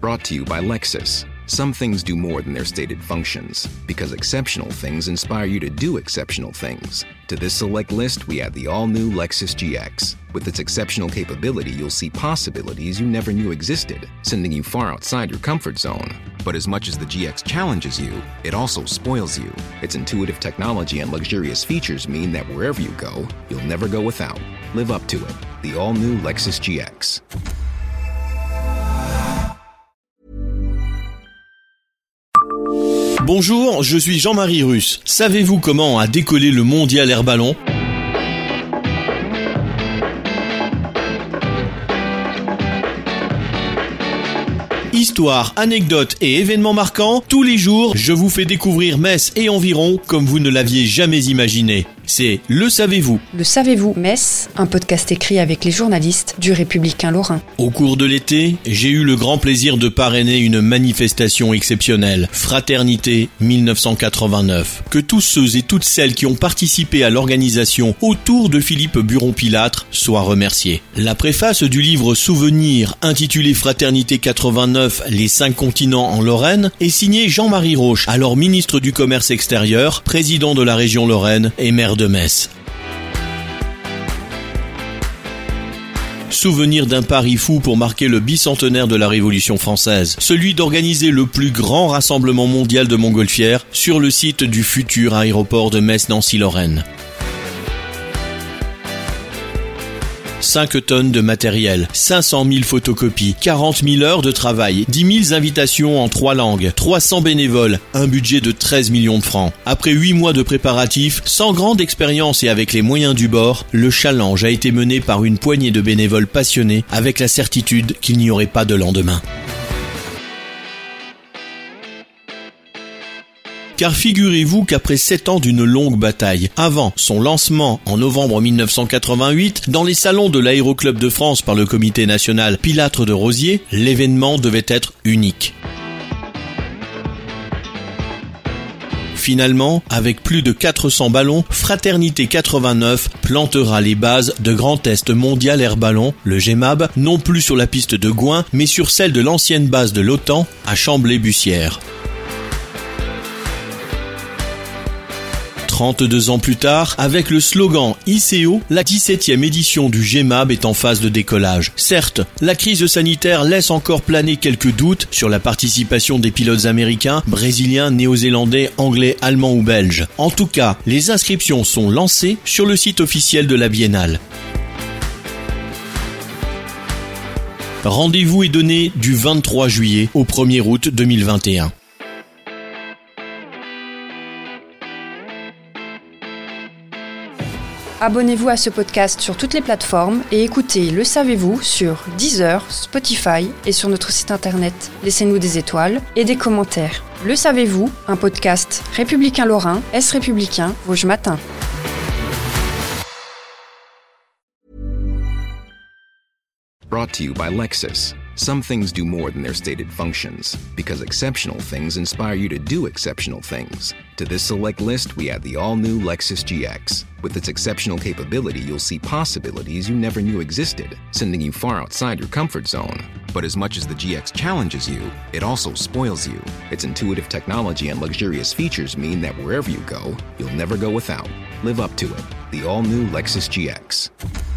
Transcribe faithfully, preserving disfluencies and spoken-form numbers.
Brought to you by Lexus. Some things do more than their stated functions, because exceptional things inspire you to do exceptional things. To this select list, we add the all-new Lexus G X. With its exceptional capability, you'll see possibilities you never knew existed, sending you far outside your comfort zone. But as much as the G X challenges you, it also spoils you. Its intuitive technology and luxurious features mean that wherever you go, you'll never go without. Live up to it. The all-new Lexus G X. Bonjour, je suis Jean-Marie Russe. Savez-vous comment a décollé le mondial air ballon ? Histoire, anecdotes et événements marquants, tous les jours, je vous fais découvrir Metz et environ comme vous ne l'aviez jamais imaginé. C'est Le Savez-vous. Le Savez-vous Metz, un podcast écrit avec les journalistes du Républicain Lorrain. Au cours de l'été, j'ai eu le grand plaisir de parrainer une manifestation exceptionnelle, Fraternité dix-neuf cent quatre-vingt-neuf. Que tous ceux et toutes celles qui ont participé à l'organisation autour de Philippe Buron-Pilâtre soient remerciés. La préface du livre Souvenirs, intitulé Fraternité quatre-vingt-neuf, les cinq continents en Lorraine, est signée Jean-Marie Roche, alors ministre du Commerce extérieur, président de la région Lorraine et maire de Metz. Souvenir d'un pari fou pour marquer le bicentenaire de la Révolution française, celui d'organiser le plus grand rassemblement mondial de montgolfières sur le site du futur aéroport de Metz-Nancy-Lorraine. cinq tonnes de matériel, cinq cent mille photocopies, quarante mille heures de travail, dix mille invitations en trois langues, trois cents bénévoles, un budget de treize millions de francs. Après huit mois de préparatifs, sans grande expérience et avec les moyens du bord, le challenge a été mené par une poignée de bénévoles passionnés avec la certitude qu'il n'y aurait pas de lendemain. Car figurez-vous qu'après sept ans d'une longue bataille, avant son lancement en novembre dix-neuf cent quatre-vingt-huit, dans les salons de l'Aéroclub de France par le comité national Pilâtre de Rosiers, l'événement devait être unique. Finalement, avec plus de quatre cents ballons, Fraternité quatre-vingt-neuf plantera les bases de Grand Test Mondial Air Ballon, le G M A B, non plus sur la piste de Gouin, mais sur celle de l'ancienne base de l'OTAN à Chamblay-Bussière. trente-deux ans plus tard, avec le slogan I C O, la dix-septième édition du G M A B est en phase de décollage. Certes, la crise sanitaire laisse encore planer quelques doutes sur la participation des pilotes américains, brésiliens, néo-zélandais, anglais, allemands ou belges. En tout cas, les inscriptions sont lancées sur le site officiel de la Biennale. Rendez-vous est donné du vingt-trois juillet au premier août deux mille vingt et un. Abonnez-vous à ce podcast sur toutes les plateformes et écoutez Le Savez-vous sur Deezer, Spotify et sur notre site internet. Laissez-nous des étoiles et des commentaires. Le Savez-vous, un podcast républicain lorrain, Est républicain, Vosges Matin. Brought to you by Lexus. Some things do more than their stated functions, because exceptional things inspire you to do exceptional things. To this select list, we add the all-new Lexus G X. With its exceptional capability, you'll see possibilities you never knew existed, sending you far outside your comfort zone. But as much as the G X challenges you, it also spoils you. Its intuitive technology and luxurious features mean that wherever you go, you'll never go without. Live up to it. The all-new Lexus G X.